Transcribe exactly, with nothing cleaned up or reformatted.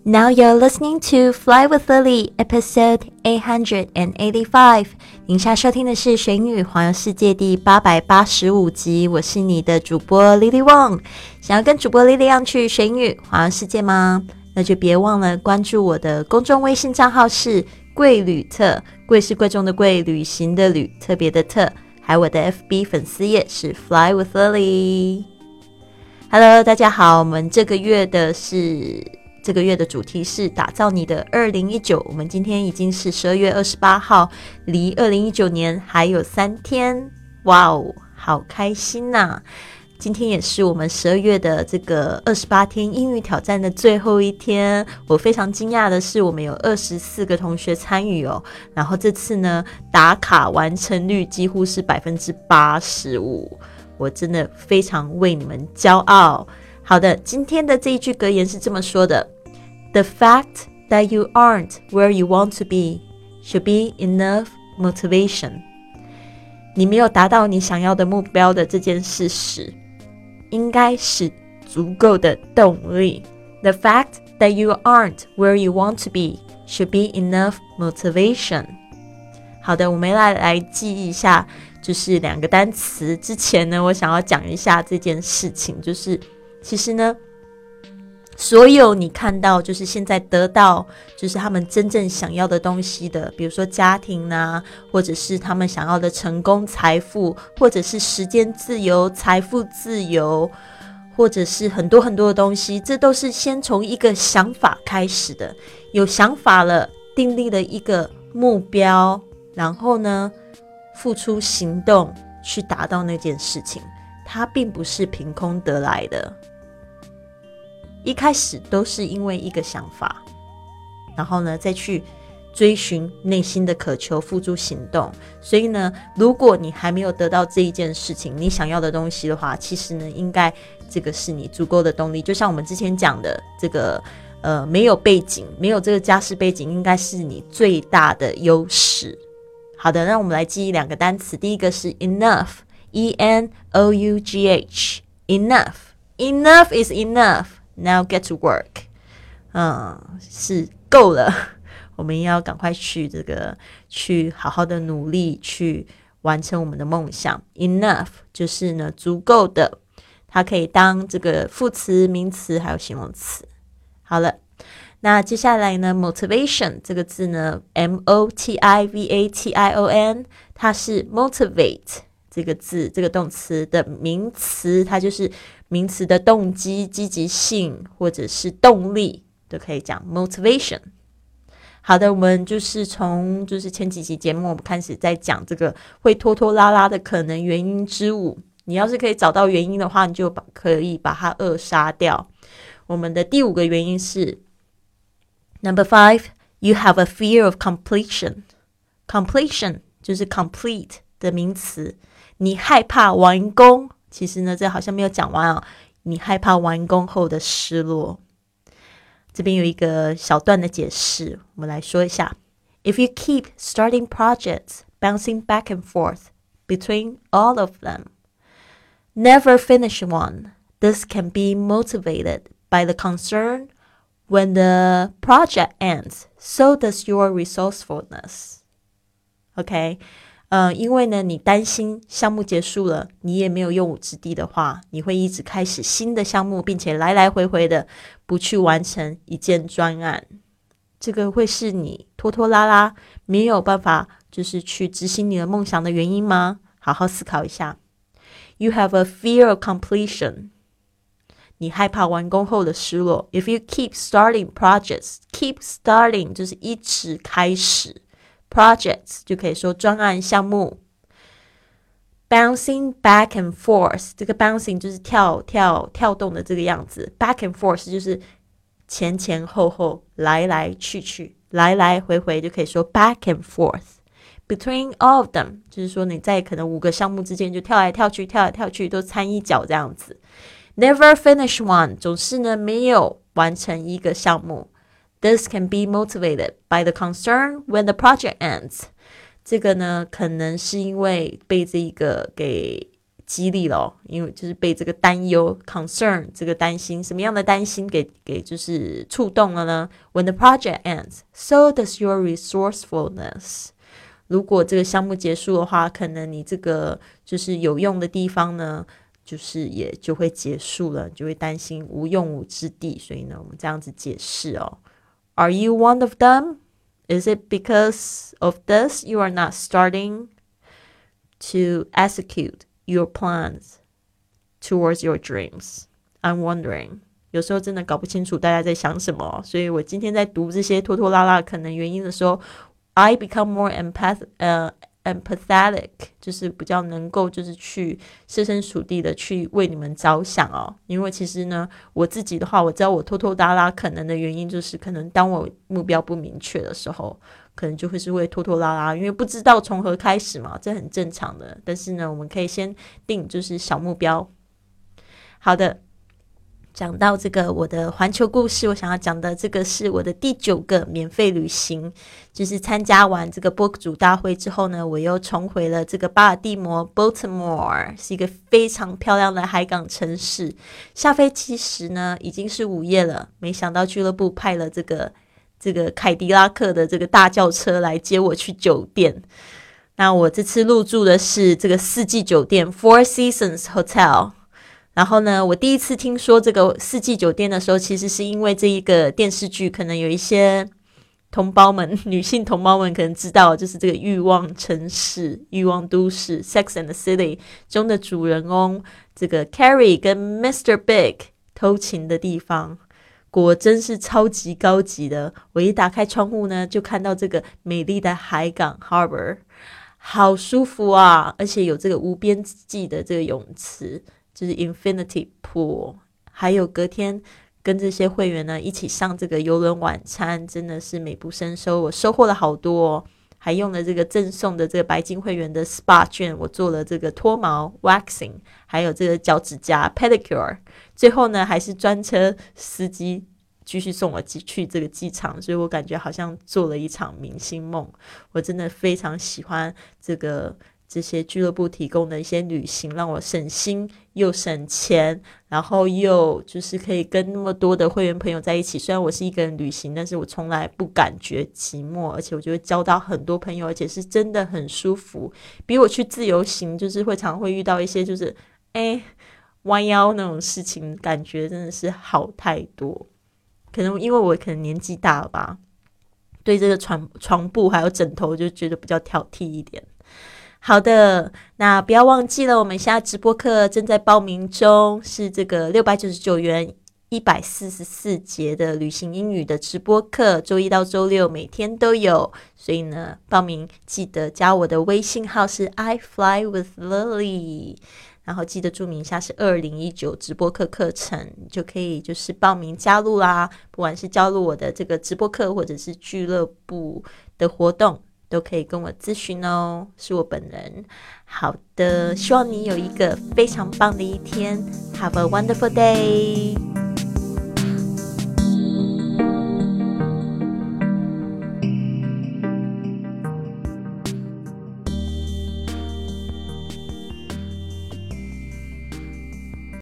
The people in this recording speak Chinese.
Now you're listening to Fly with Lily, episode eight hundred eighty-five. 您现在收听的是学英语环游世界第八百八十五集，我是你的主播 Lily Wong。想要跟主播 Lily 一样去学英语环游世界吗？那就别忘了关注我的公众微信账号是贵旅特，贵是贵重的贵，旅行的旅，特别的特，还有我的 F B 粉丝页是 Fly with Lily。Hello， 大家好，我们这个月的是这个月的主题是打造你的二零一九，我们今天已经是十二月二十八号，离二零一九年还有三天，哇哦，好开心呐！今天也是我们十二月的这个二十八天英语挑战的最后一天，我非常惊讶的是我们有二十四个同学参与哦，然后这次呢打卡完成率几乎是 百分之八十五， 我真的非常为你们骄傲。好的，今天的这一句格言是这么说的， The fact that you aren't where you want to be should be enough motivation. 你没有达到你想要的目标的这件事实应该是足够的动力。 The fact that you aren't where you want to be should be enough motivation. 好的，我们来来记一下就是两个单词。之前呢我想要讲一下这件事情，就是其实呢所有你看到就是现在得到就是他们真正想要的东西的，比如说家庭啊，或者是他们想要的成功财富，或者是时间自由财富自由，或者是很多很多的东西，这都是先从一个想法开始的。有想法了，订立了一个目标，然后呢付出行动去达到那件事情，它并不是凭空得来的，一开始都是因为一个想法，然后呢再去追寻内心的渴求，付诸行动。所以呢如果你还没有得到这一件事情你想要的东西的话，其实呢应该这个是你足够的动力。就像我们之前讲的这个呃，没有背景，没有这个家世背景应该是你最大的优势。好的，那我们来记忆两个单词。第一个是 enough, E N O U G H, enough. Enough is enough.Now get to work. 嗯，是够了，我们要赶快去这个去好好的努力去完成我们的梦想。 Enough 就是呢足够的，它可以当这个副词名词还有形容词。好了，那接下来呢 motivation 这个字呢 M O T I V A T I O N 它是 motivate这个字这个动词的名词，它就是名词的动机、积极性或者是动力都可以讲 motivation。 好的，我们就是从就是前几集节目我们开始在讲这个会拖拖拉拉的可能原因之五，你要是可以找到原因的话，你就可以把它扼杀掉。我们的第五个原因是 Number five, you have a fear of completion. Completion 就是 complete 的名词，你害怕完工，其实呢这好像没有讲完哦，你害怕完工后的失落。这边有一个小段的解释，我们来说一下。 If you keep starting projects, bouncing back and forth between all of them, never finish one, this can be motivated by the concern when the project ends, so does your resourcefulness. OK，呃，因为呢你担心项目结束了你也没有用武之地的话，你会一直开始新的项目，并且来来回回的不去完成一件专案，这个会是你拖拖拉拉没有办法就是去执行你的梦想的原因吗？好好思考一下。 You have a fear of completion， 你害怕完工后的失落。 If you keep starting projects, keep starting 就是一直开始， projects 就可以说专案项目。 Bouncing back and forth， 这个 bouncing 就是跳跳跳动的这个样子， back and forth 就是前前后后来来去去来来回回，就可以说 back and forth。 Between all of them 就是说你在可能五个项目之间就跳来跳去跳来跳去都掺一脚这样子。 Never finish one 总是呢没有完成一个项目。 This can be motivated by the concern when the project ends， 这个呢可能是因为被这个给激励了、哦、因为就是被这个担忧 concern 这个担心，什么样的担心给给就是触动了呢？ When the project ends, so does your resourcefulness。 如果这个项目结束的话，可能你这个就是有用的地方呢就是也就会结束了，就会担心无用武之地。所以呢我们这样子解释哦。 Are you one of them? Is it because of this you are not starting to execute your plans towards your dreams? I'm wondering. 有时候真的搞不清楚大家在想什么，所以我今天在读这些拖拖拉拉可能原因的时候， I become more empath, uh, empathetic， 就是比较能够就是去设身处地的去为你们着想哦。因为其实呢我自己的话，我知道我拖拖拉拉可能的原因就是可能当我目标不明确的时候，可能就会是会拖拖拉拉，因为不知道从何开始嘛，这很正常的。但是呢我们可以先定就是小目标。好的，讲到这个我的环球故事，我想要讲的这个是我的第九个免费旅行，就是参加完这个播主大会之后呢，我又重回了这个巴尔的摩 Baltimore， 是一个非常漂亮的海港城市。下飞机时呢已经是午夜了，没想到俱乐部派了这个这个凯迪拉克的这个大轿车来接我去酒店。那我这次入住的是这个四季酒店 Four Seasons Hotel。然后呢我第一次听说这个四季酒店的时候，其实是因为这一个电视剧，可能有一些同胞们女性同胞们可能知道，就是这个欲望城市欲望都市 Sex and the City 中的主人翁这个 Carrie 跟 Mister Big 偷情的地方，果真是超级高级的。我一打开窗户呢就看到这个美丽的海港 Harbor， 好舒服啊，而且有这个无边际的这个泳池，就是 Infinity Pool， 还有隔天跟这些会员呢一起上这个邮轮晚餐，真的是美不胜收，我收获了好多哦。还用了这个赠送的这个白金会员的 S P A 券，我做了这个脱毛 waxing， 还有这个脚趾甲 pedicure， 最后呢还是专车司机继续送我去这个机场，所以我感觉好像做了一场明星梦。我真的非常喜欢这个这些俱乐部提供的一些旅行，让我省心又省钱，然后又就是可以跟那么多的会员朋友在一起。虽然我是一个人旅行，但是我从来不感觉寂寞，而且我就会交到很多朋友，而且是真的很舒服。比我去自由行就是会常会遇到一些就是哎弯腰那种事情，感觉真的是好太多。可能因为我可能年纪大了吧，对这个床床布还有枕头就觉得比较挑剔一点。好的，那不要忘记了，我们现在直播课正在报名中，是这个六百九十九元一百四十四节的旅行英语的直播课，周一到周六每天都有。所以呢报名记得加我的微信号是 I fly with Lily， 然后记得注明一下是二零一九直播课课程，就可以就是报名加入啦。不管是加入我的这个直播课或者是俱乐部的活动都可以跟我咨询哦，是我本人。好的，希望你有一个非常棒的一天。Have a wonderful day.